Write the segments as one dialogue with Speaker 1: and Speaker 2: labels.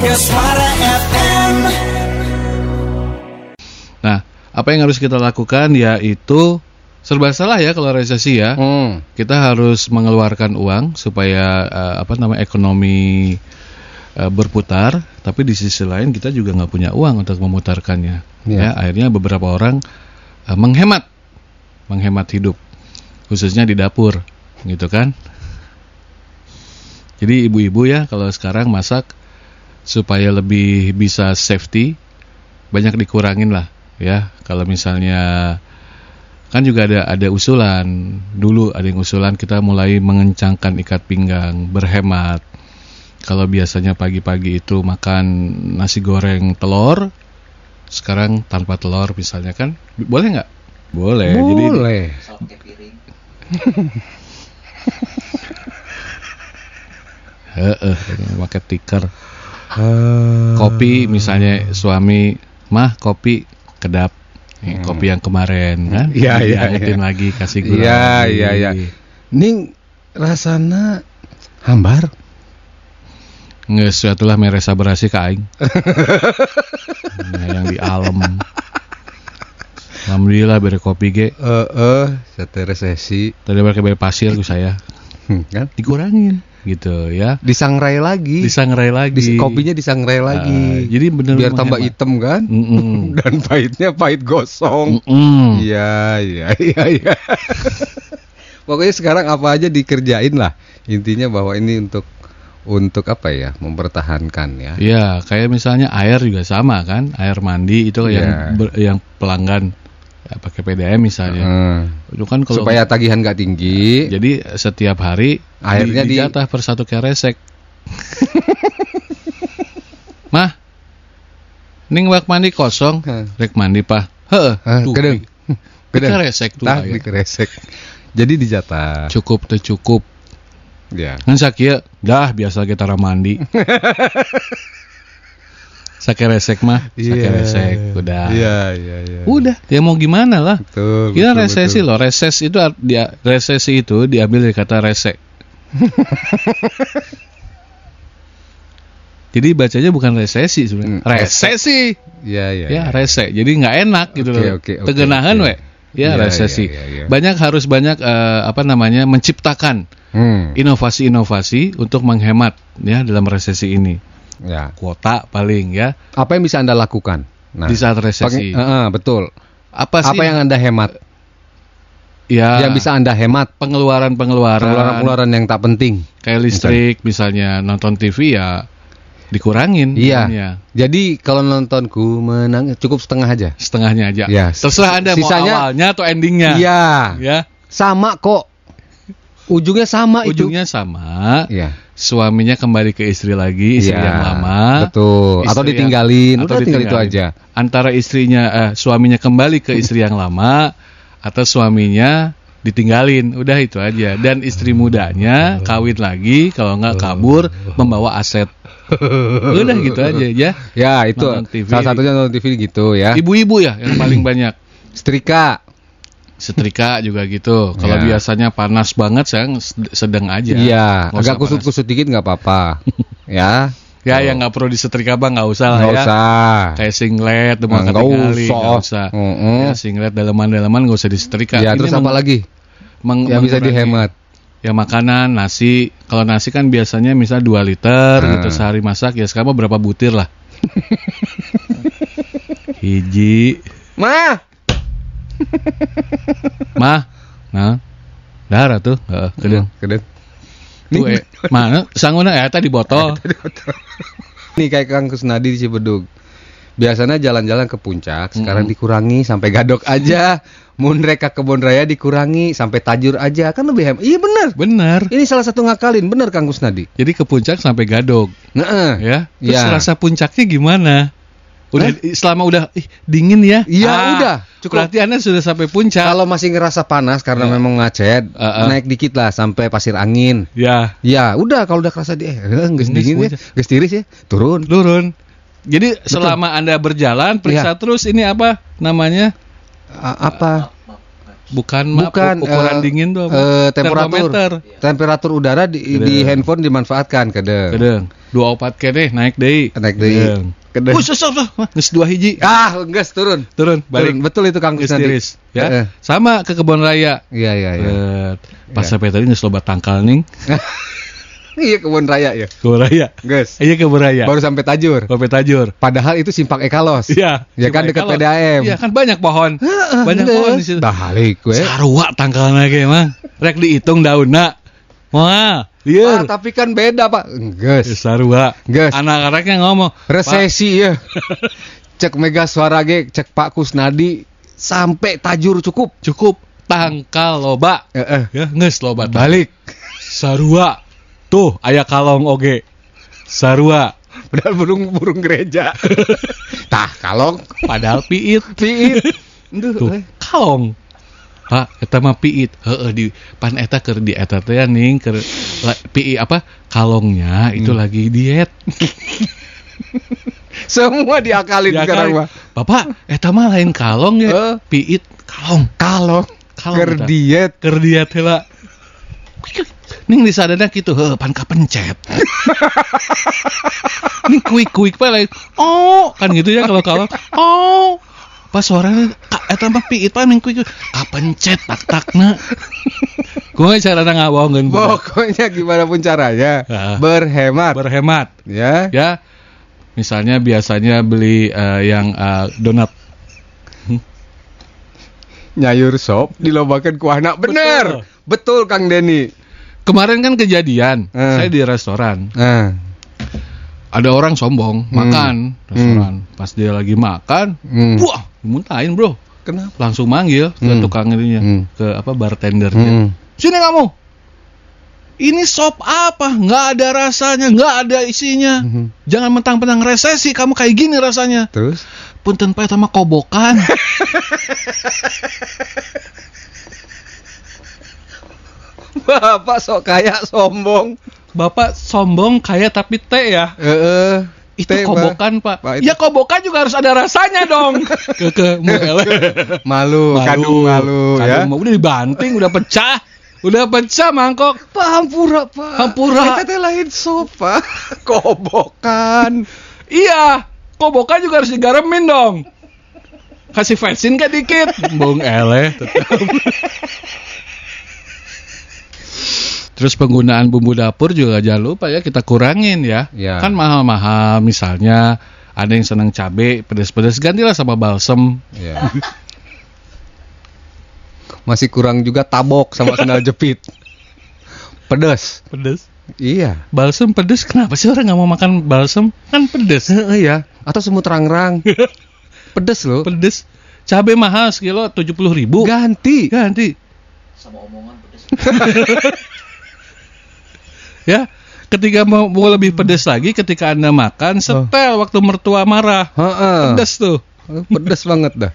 Speaker 1: Suara FM.
Speaker 2: Nah, apa yang harus kita lakukan yaitu serba salah ya kalau resesi ya. Kita harus mengeluarkan uang supaya ekonomi berputar, tapi di sisi lain kita juga nggak punya uang untuk memutarkannya. Ya, akhirnya beberapa orang menghemat hidup, khususnya di dapur, gitu kan. Jadi ibu-ibu ya kalau sekarang masak supaya lebih bisa safety, banyak dikurangin lah ya. Kalau misalnya kan juga ada usulan, dulu ada yang usulan kita mulai mengencangkan ikat pinggang, berhemat. Kalau biasanya pagi-pagi itu makan nasi goreng telur, sekarang tanpa telur misalnya kan, boleh nggak? Boleh.
Speaker 3: Boleh.
Speaker 2: Jadi pakai tikar. Kopi misalnya suami, mah kopi kedap. Kopi yang kemarin kan? Diangetin lagi, kasih gula.
Speaker 3: Iya. Ning rasana hambar.
Speaker 2: Nggak suatulah meresa berasi ke aing. Nah, yang di alam. Alhamdulillah beri kopi ge.
Speaker 3: Sate resesi.
Speaker 2: Tadi pakai pasir ku saya.
Speaker 3: Kan?
Speaker 2: Dikurangin gitu ya.
Speaker 3: Disangrai lagi. Kopinya disangrai lagi.
Speaker 2: Jadi benar
Speaker 3: biar tambah hitam kan? Dan pahitnya pahit gosong. Iya. Pokoknya sekarang apa aja dikerjain lah. Intinya bahwa ini untuk apa ya? Mempertahankan ya.
Speaker 2: Iya, kayak misalnya air juga sama kan? Air mandi itu yang pelanggan pakai PDM misalnya. Itu kan kalau
Speaker 3: supaya tagihan nggak tinggi.
Speaker 2: Jadi setiap hari airnya dijatah per 1 keresek. Mah, ning wak mandi kosong, rek mandi pah.
Speaker 3: Kedeng.
Speaker 2: Keresek tuh.
Speaker 3: Dikeresek. Jadi dijatah.
Speaker 2: Cukup. Ya. Kan sakieu dah biasa kita mandi. Sakeresek mah, sakeresek udah. Iya. Udah, ya mau gimana lah. Kita resesi loh. Resesi itu diambil dari kata resek. Jadi bacanya bukan resesi sebenarnya. Resesi. Ya, resek. Jadi nggak enak gitu loh. Tegenahan we. Ya, resesi. Banyak menciptakan inovasi-inovasi untuk menghemat ya dalam resesi ini. Ya. Kuota paling ya.
Speaker 3: Apa yang bisa Anda lakukan?
Speaker 2: Di saat resesi.
Speaker 3: Betul.
Speaker 2: Apa yang Anda hemat?
Speaker 3: Ya. Yang bisa Anda hemat.
Speaker 2: Pengeluaran
Speaker 3: yang tak penting.
Speaker 2: Kayak listrik misalnya, nonton TV ya dikurangin.
Speaker 3: Iya. Jadi kalau nontonku menang cukup setengahnya aja. Ya.
Speaker 2: Terserah Anda sisanya, mau awalnya atau endingnya.
Speaker 3: Iya.
Speaker 2: Ya.
Speaker 3: Sama kok. Ujungnya sama.
Speaker 2: Ya. Suaminya kembali ke istri lagi, istri yang lama.
Speaker 3: Betul. Atau ditinggalin. Udah tinggal itu aja.
Speaker 2: Antara suaminya kembali ke istri yang lama atau suaminya ditinggalin. Udah itu aja. Dan istri mudanya kawin lagi, kalau enggak kabur membawa aset. Udah gitu aja ya.
Speaker 3: Ya, itu salah satunya nonton TV gitu ya.
Speaker 2: Ibu-ibu ya yang paling banyak. Setrika juga gitu. Kalau biasanya panas banget, saya sedang aja.
Speaker 3: Iya, agak kusut-kusut dikit nggak apa-apa. Ya.
Speaker 2: Ya, yang nggak perlu disetrika bang, nggak usah lah ya.
Speaker 3: Nggak usah.
Speaker 2: Kayak singlet, nggak usah. Ya, singlet dalaman-dalaman nggak usah disetrika.
Speaker 3: Ya, terus apa lagi? Yang bisa dihemat.
Speaker 2: Ya makanan, nasi. Kalau nasi kan biasanya misal 2 liter gitu sehari masak. Ya sekarang berapa butir lah? Hiji. Mah, nah, darah tuh, kedeng. Tuh, mana? Sangguna tadi botol.
Speaker 3: Nih kayak Kang Kusnadi di Cibedug. Biasanya jalan-jalan ke puncak, sekarang dikurangi sampai Gadok aja. Mun reka Kebon Raya dikurangi sampai Tajur aja, kan lebih hemat. Iya benar. Ini salah satu ngakalin, benar Kang Kusnadi.
Speaker 2: Jadi ke puncak sampai Gadok. Ya. Terus rasa puncaknya gimana? Selama udah dingin ya?
Speaker 3: Iya, udah.
Speaker 2: Cukup. Berarti Anda sudah sampai puncak.
Speaker 3: Kalau masih ngerasa panas karena memang ngacet, naik dikit lah sampai Pasir Angin.
Speaker 2: Ya.
Speaker 3: Ya, udah kalau udah kerasa geus dingin ya, geus tiris ya, turun.
Speaker 2: Jadi selama Anda berjalan periksa terus ini apa namanya? Bukan ukuran dingin tuh.
Speaker 3: Temperatur udara di handphone dimanfaatkan
Speaker 2: Kedeng. 24 kene naik deui. Kedeng. Susah. Geus 2 hiji.
Speaker 3: Geus turun.
Speaker 2: Balik.
Speaker 3: Betul itu Kang Kusnadi.
Speaker 2: Tiris, ya. Sama ke kebun raya.
Speaker 3: Iya.
Speaker 2: Pas sampai tadi geus loba tangkal ning.
Speaker 3: Iya kebun raya ya.
Speaker 2: Kebun raya.
Speaker 3: Guys.
Speaker 2: Iya kebun raya.
Speaker 3: Baru sampai Tajur.
Speaker 2: Padahal
Speaker 3: itu Simpang Ekalos.
Speaker 2: Iya.
Speaker 3: Ya kan dekat PDAM.
Speaker 2: Iya kan banyak pohon. Banyak pohon di situ.
Speaker 3: Balik gue.
Speaker 2: Sarua tangkalna ge mah. Rek dihitung daunna. Wah, lieur.
Speaker 3: Tapi kan beda, Pak. Geus.
Speaker 2: Sarua.
Speaker 3: Geus.
Speaker 2: Anak-anaknya ngomong,
Speaker 3: resesi ya. Cek Mega Suara ge, cek Pak Kusnadi sampai Tajur cukup.
Speaker 2: Tangkal loba. Ya, geus loba.
Speaker 3: Balik.
Speaker 2: Sarua. Tuh, aya kalong oge. Sarua.
Speaker 3: Padahal burung gereja. Tah, kalong.
Speaker 2: Padahal piit. Tuh, kalong. Pak, eta mah piit. Di pan eta keur di eta teh ning keur piit kalongnya itu lagi diet.
Speaker 3: Semua diakalin sekarang mah.
Speaker 2: Bapak, eta mah lain kalong ya. Piit kalong.
Speaker 3: Keur diet
Speaker 2: heula. Ning disadana kitu, pan kapencet. Ning kuik-kuik pa lain. Kan gitu ya kalau kalong. Pas suaranya eta mah piit pa ning kuik kapencet tak-takna. Kumaha carana ngabohongeun?
Speaker 3: Pokoknya gimana pun caranya berhemat. Ya. Misalnya biasanya beli yang donat. Nyayur sop dilobakeun ku anak. Betul Kang Denny.
Speaker 2: Kemarin kan kejadian, saya di restoran. Ada orang sombong makan restoran. Pas dia lagi makan, wah, dimuntahin, Bro.
Speaker 3: Kenapa?
Speaker 2: Langsung manggil ke tukang ininya, ke bartendernya. Sini kamu. Ini sop apa? Nggak ada rasanya, nggak ada isinya. Jangan mentang-mentang resesi, kamu kayak gini rasanya.
Speaker 3: Terus?
Speaker 2: Punten pae sama kobokan.
Speaker 3: Bapak sok kaya sombong.
Speaker 2: Bapak sombong kaya tapi teh ya. Itu kobokan, Pak. Ya kobokan juga harus ada rasanya dong.
Speaker 3: Malu, kadung malu ya.
Speaker 2: Udah dibanting, udah pecah mangkok.
Speaker 3: Pak hampura, Pak. Eta teh lain sop, Pak. Kobokan.
Speaker 2: Iya, kobokan juga harus digaremin dong. Kasih vetsin kan dikit. Bung eleh. Terus penggunaan bumbu dapur juga jangan lupa ya kita kurangin ya. Kan mahal-mahal, misalnya ada yang senang cabai pedas-pedas, gantilah sama balsem.
Speaker 3: Masih kurang juga tabok sama sendal jepit. Pedas. Iya.
Speaker 2: Balsem pedas, kenapa sih orang nggak mau makan balsem? Kan pedas.
Speaker 3: Iya. Atau semut rangrang. Pedas loh.
Speaker 2: Pedas. Cabai mahal sekilo 70.000.
Speaker 3: Ganti.
Speaker 4: Sama omongan pedas.
Speaker 2: Ya, ketika mau lebih pedas lagi, ketika Anda makan, setel waktu mertua marah. Pedas tuh.
Speaker 3: Pedas banget dah.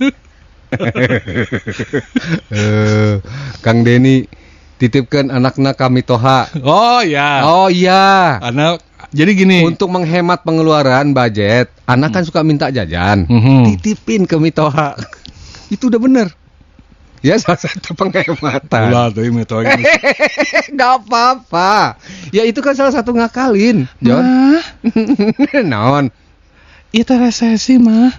Speaker 3: Kang Denny titipkan anaknya kami toha.
Speaker 2: Oh ya. Anak. Jadi gini.
Speaker 3: Untuk menghemat pengeluaran budget, anak kan suka minta jajan. Titipin ke Mitoha. Itu udah bener. Ya salah satu penghematan.
Speaker 2: Ulah tuh Mitoha.
Speaker 3: Gak apa-apa. Ya itu kan salah satu ngakalin, Jon. Naon?
Speaker 2: Itu resesi mah.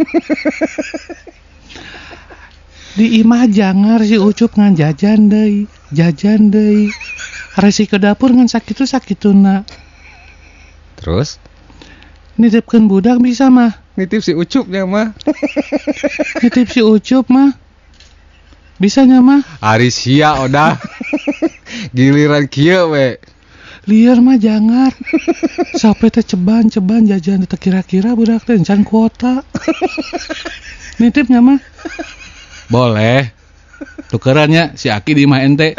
Speaker 2: Di imah jangar si Ucup ngan jajan deui. Resi ke dapur ngan sakituna.
Speaker 3: Terus?
Speaker 2: Nitipkeun budak bisa mah.
Speaker 3: Nitip si Ucupnya mah.
Speaker 2: Nitip si Ucup mah. Bisanya mah.
Speaker 3: Ari sia odah. Giliran kieu we.
Speaker 2: Liar mah jangar. Sampai teh ceban jajan teh kira-kira budak teh encan kuota. Nitipnya mah. Boleh. Tukerannya si Aki di imah ente.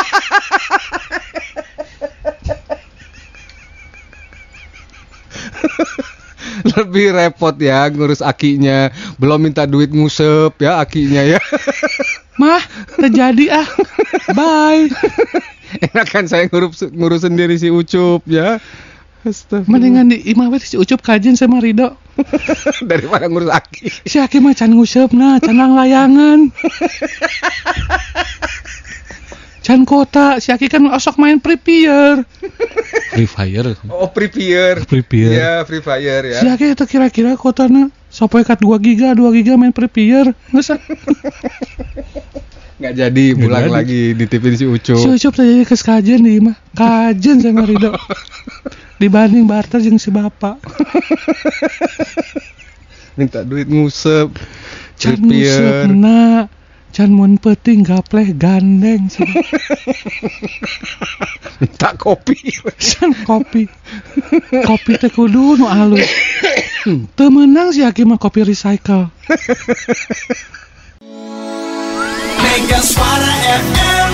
Speaker 3: Lebih repot ya ngurus akinya. Belum minta duit ngusep ya akinya ya.
Speaker 2: Mah, terjadi Bye.
Speaker 3: Enak kan saya ngurus sendiri si Ucup ya.
Speaker 2: Mendingan di imah we si Ucup kajen sama Rido.
Speaker 3: Daripada ngurus Aki.
Speaker 2: Si Aki mah can nguseupna, can layangan. Can kota, si Aki kan osok main Free Fire.
Speaker 3: Oh, Free Fire. Iya, Free Fire ya.
Speaker 2: Si Aki itu kira-kira kotana sampai kat 2 giga main Free Fire.
Speaker 3: Nggak jadi pulang lagi ditipin si Ucup.
Speaker 2: Si Ucup tadi ke kajen di imah. Kajen sama Rido. Dibanding barter jeung si bapak.
Speaker 3: Minta duit ngusep.
Speaker 2: Can ngusep na. Can mun peuting gapleh gandeng.
Speaker 3: Minta kopi.
Speaker 2: Can kopi. Kopi teh kudu nu alus. Teu meunang si Aki mah kopi recycle.
Speaker 1: Mega Suara FM.